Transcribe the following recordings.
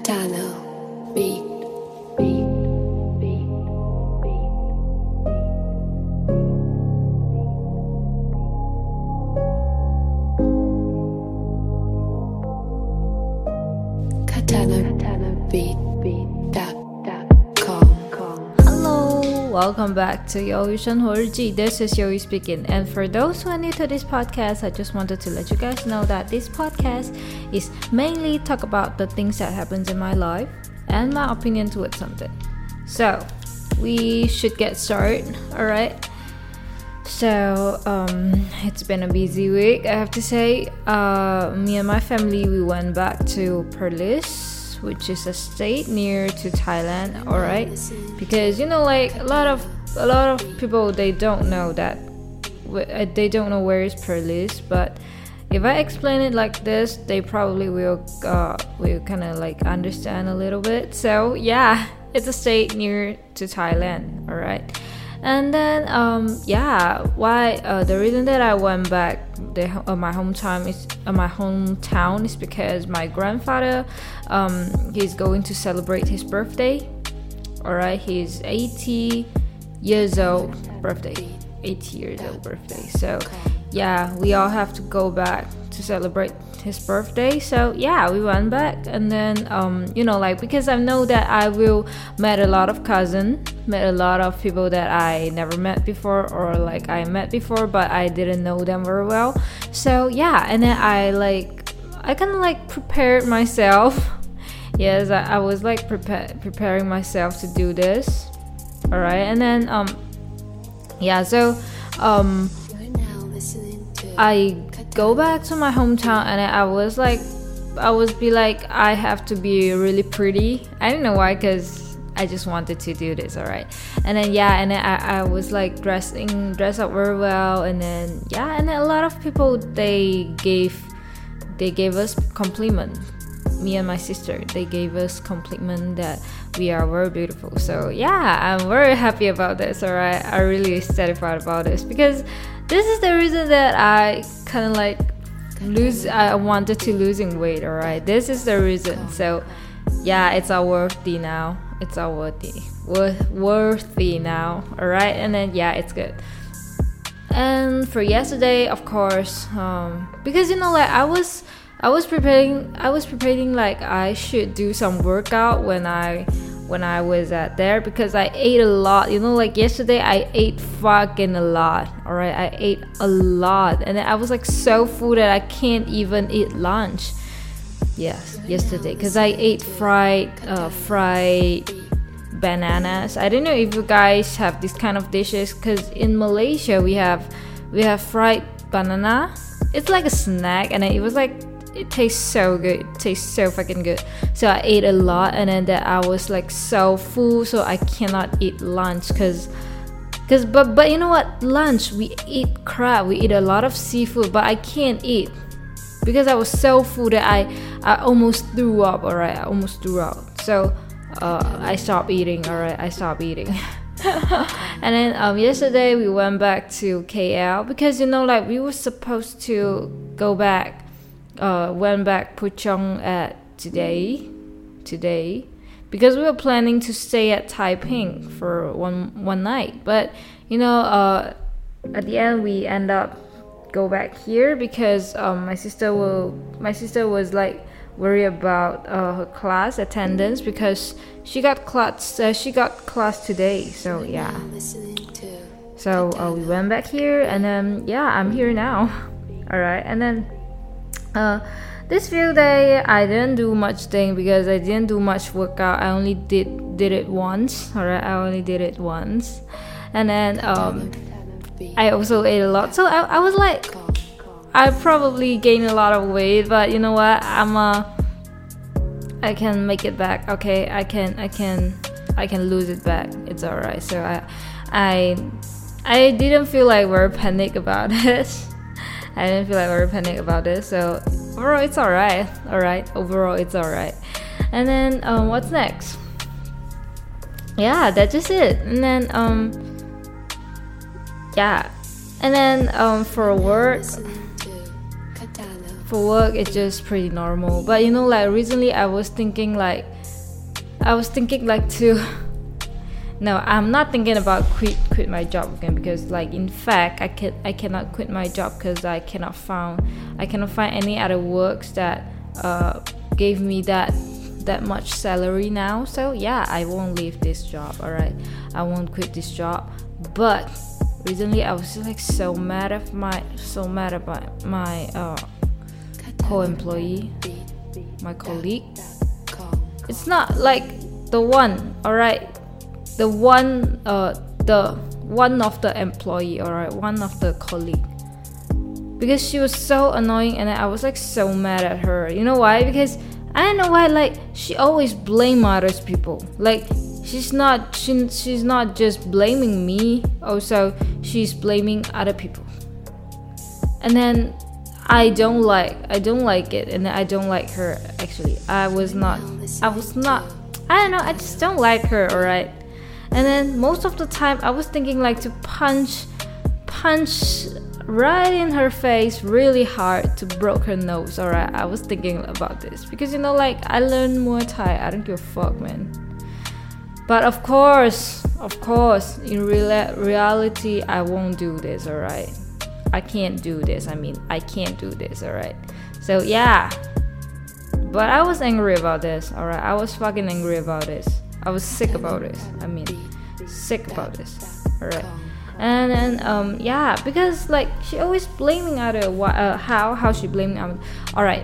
Katana beat, beat, beat, beat, katanabeat.com. Hello, welcome back to Yoyu Shenhuo日记. This is Yoyu speaking. And for those who are new to this podcast, I just wanted to let you guys know that this podcast is mainly talk about the things that happens in my life and my opinion towards something. So we should get started. Alright. So it's been a busy week, I have to say. Me and my family, we went back to Perlis, which is a state near to Thailand. Alright, because like a lot of people, they don't know that, they don't know where is Perlis. But if I explain it like this, they probably will kind of like understand a little bit. So yeah, it's a state near to Thailand. Alright. And then the reason that I went back my hometown is because my grandfather, he's going to celebrate his birthday. Alright, he's 80 years old birthday. So yeah, we all have to go back to celebrate his birthday. So yeah, we went back. And then because I know that I will met a lot of people that I never met before, or like I met before but I didn't know them very well. So yeah, and then I kind of like prepared myself. Yes, I was like preparing myself to do this. Alright, and then I go back to my hometown, and I was like, I have to be really pretty. I don't know why, because I just wanted to do this. Alright, and then I was like dress up very well, and then a lot of people, they gave us compliment. Me and my sister, they gave us compliment that we are very beautiful. So yeah, I'm very happy about this. Alright, I'm really satisfied about this, because this is the reason that I kind of like I wanted to losing weight. Alright, this is the reason. So yeah, it's all worthy now. It's all worthy now. Alright, and then it's good. And for yesterday, of course, because I was preparing like I should do some workout when I was at there, because I ate a lot. Like yesterday I ate fucking a lot. Alright, I ate a lot, and then I was like so full that I can't even eat lunch. Yes, yesterday, because I ate fried bananas. I don't know if you guys have this kind of dishes, because in Malaysia we have fried banana. It's like a snack, and it was like, it tastes so good. It tastes so fucking good. So I ate a lot, and then that I was like so full, so I cannot eat lunch, but you know what? Lunch, we eat crab, we eat a lot of seafood, but I can't eat because I was so full that I almost threw up. Alright, I almost threw up. So I stopped eating. Alright, I stopped eating. And then yesterday we went back to KL, because like we were supposed to go back. Went back Puchong at today, because we were planning to stay at Taiping for one night. But at the end we end up go back here, because my sister was like worried about her class attendance, because she got class today. So yeah, so we went back here, and then I'm here now. Alright, and then this few day I didn't do much thing, because I didn't do much workout. I only did it once. Alright, I only did it once. And then I also ate a lot. So I was like, I probably gained a lot of weight, but you know what? I can make it back. Okay, I can lose it back. It's alright. So I didn't feel like very panic about it. I didn't feel like very panic about this. So overall it's alright. Overall it's alright. And then what's next? Yeah, that's just it. And then for work, for work it's just pretty normal. But you know, like recently I was thinking like to no, I'm not thinking about quit my job again, because like in fact I cannot quit my job because I cannot find any other works that gave me that much salary now. So yeah, I won't leave this job, alright? I won't quit this job. But recently I was like so mad about my co-employee, my colleague. It's not like the one, alright? The one of the employee, alright? One of the colleague. Because she was so annoying and I was like so mad at her. You know why? Because I don't know why, like she always blame others people. Like she's not just blaming me, also she's blaming other people. And then I don't like it, and I don't like her actually. I don't know, I just don't like her, alright? And then most of the time I was thinking like to punch right in her face really hard to break her nose, alright? I was thinking about this because, you know, like I learned Muay Thai. I don't give a fuck, man. But of course, in reality, I won't do this, alright? I can't do this. Alright? So yeah. But I was angry about this, alright? I was fucking angry about this. I was sick about this. Alright? And then yeah, because like she always blaming other how she blaming alright.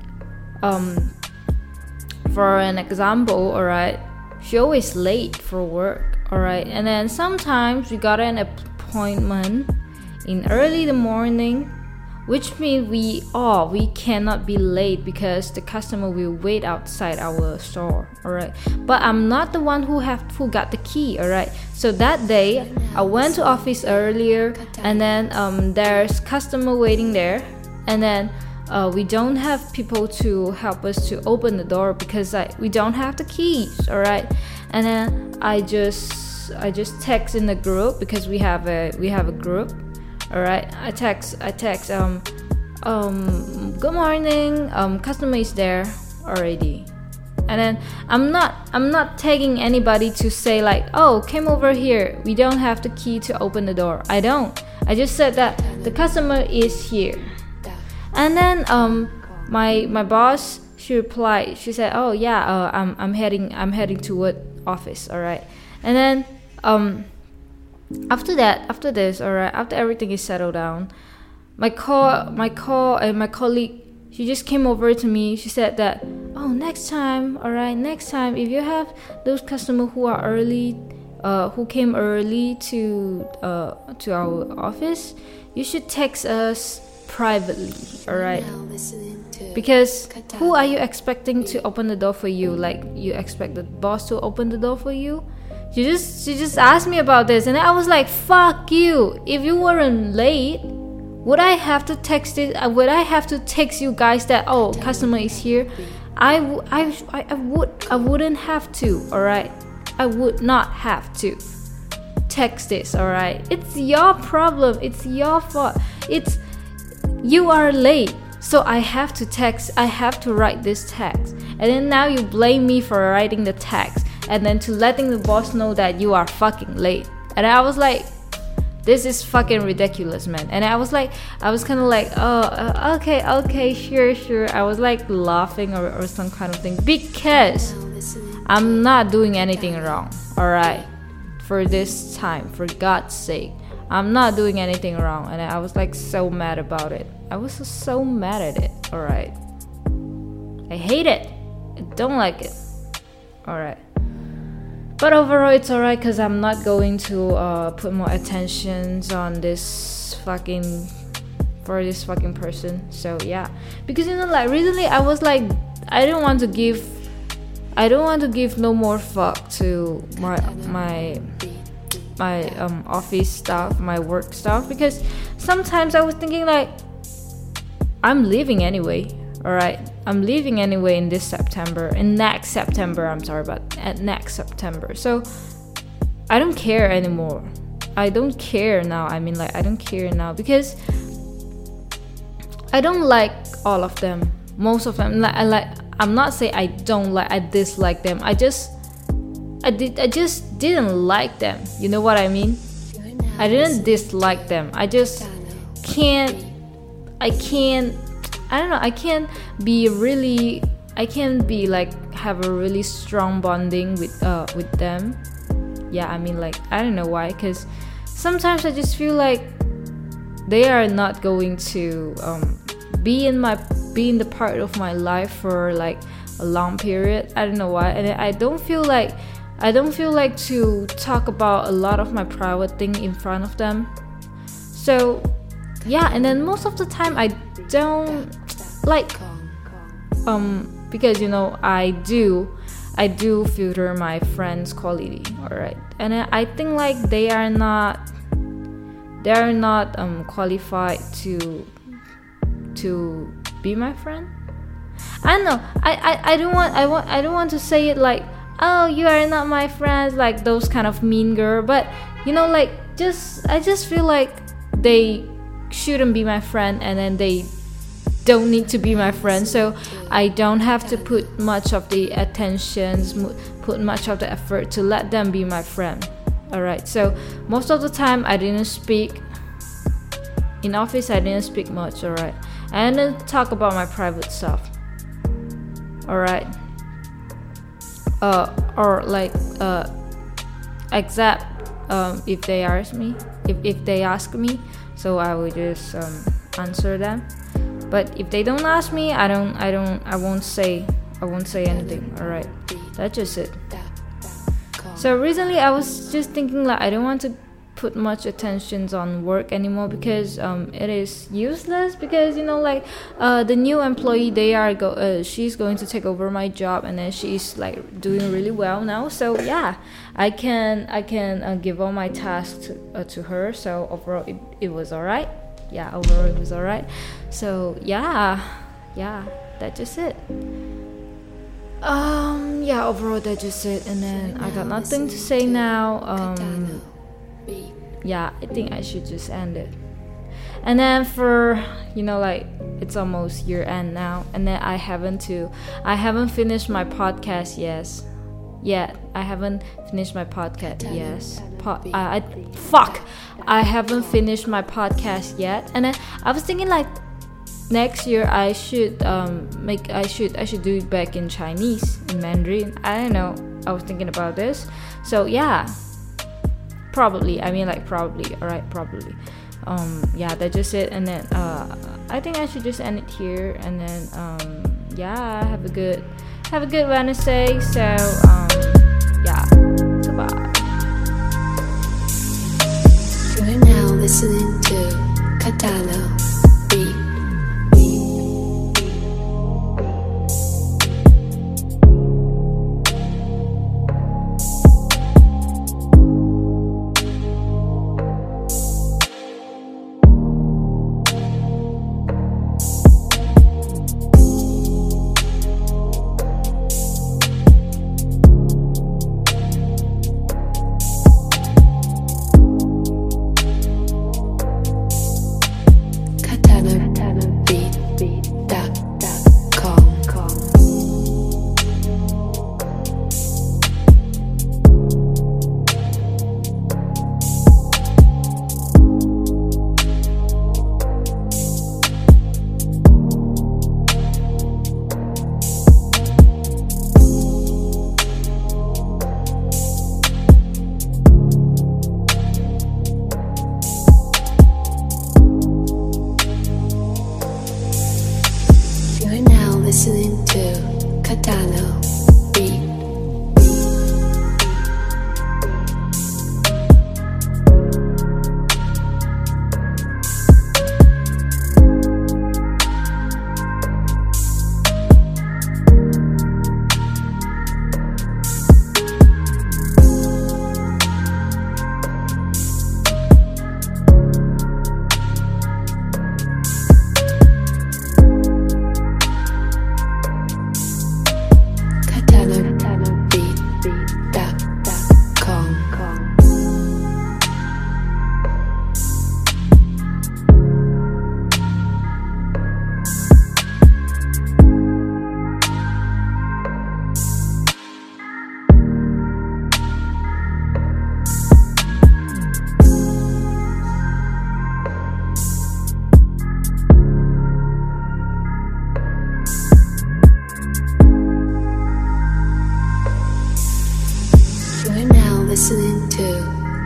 For an example, alright, she always late for work, alright, and then sometimes we got an appointment in early the morning, which means we cannot be late because the customer will wait outside our store, alright. But I'm not the one who got the key, alright. So that day I went to office earlier, and then there's customer waiting there, and then we don't have people to help us to open the door because we don't have the keys, alright. And then I just text in the group because we have a group. Alright, I text good morning, customer is there already. And then I'm not tagging anybody to say like, oh, came over here, we don't have the key to open the door. I just said that the customer is here. And then my boss, she replied, she said, oh yeah, I'm heading toward office, alright. And then after everything is settled down, my colleague, she just came over to me. She said that, oh, next time, if you have those customers who are early, who came early to our office, you should text us privately, alright? Because who are you expecting to open the door for you? Like, you expect the boss to open the door for you? She just asked me about this, and I was like, fuck you. If you weren't late, would I have to text it? Would I have to text you guys that, oh, customer is here? I wouldn't have to, alright? I would not have to text this, alright? It's your problem. It's your fault. You are late, so I have to text. I have to write this text, and then now you blame me for writing the text, and then to letting the boss know that you are fucking late. And I was like, this is fucking ridiculous, man. And I was kind of like, oh, okay, sure. I was like laughing or some kind of thing, because I'm not doing anything wrong, alright? For this time, for God's sake, I'm not doing anything wrong. And I was like so mad about it. I was so mad at it, alright? I hate it. I don't like it, alright? But overall, it's alright, because I'm not going to put more attentions on this fucking person. So yeah, because, you know, like recently I was like, I don't want to give no more fuck to my office stuff, my work stuff, because sometimes I was thinking like, I'm leaving anyway, alright? I'm leaving anyway in next September, next September. So I don't care anymore. I don't care now. I don't care now, because I don't like all of them. Most of them, I'm not saying I don't like, I dislike them. I just didn't like them. You know what I mean? I didn't dislike them. I just can't. I don't know. I can't be like have a really strong bonding with them. Yeah, I mean, like, I don't know why. Cause sometimes I just feel like they are not going to be in the part of my life for like a long period. I don't know why, and I don't feel like to talk about a lot of my private thing in front of them. So yeah, and then most of the time I don't like because I do filter my friends' quality, alright, and I think like they are not qualified to be my friend. I don't know. I don't want to say it like, oh, you are not my friends, like those kind of mean girl, but like I just feel like they shouldn't be my friend, and then they don't need to be my friend, so I don't have to put much of the put much of the effort to let them be my friend. Alright, so most of the time I didn't speak in office. I didn't speak much. Alright, I didn't talk about my private stuff. Alright, or like except if they ask me, so I will just answer them. But if they don't ask me, I won't say anything. Alright, that's just it. So recently I was just thinking like I don't want to put much attention on work anymore, because it is useless, because the new employee, she's going to take over my job, and then she's like doing really well now, so yeah, I can give all my tasks to her. So overall it was alright. So yeah, that's just it. Overall that's just it, and then I got nothing to say now. Yeah, I think I should just end it. And then for like it's almost year end now, and then I haven't finished my podcast yet. I haven't finished my podcast. I haven't finished my podcast yet, and then I was thinking like next year I should do it back in Chinese, in Mandarin. I don't know. I was thinking about this. So yeah, probably. Alright, probably. That's just it. And then I think I should just end it here. And then have a good Wednesday. So goodbye. You're now listening to Katalo Beat.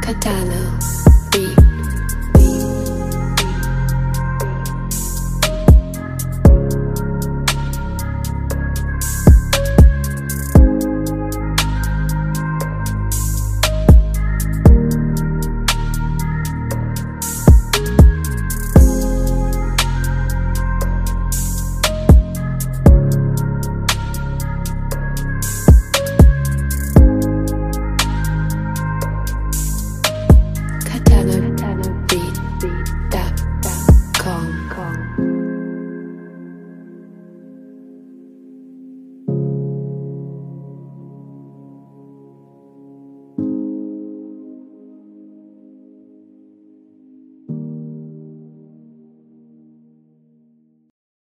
Cadalo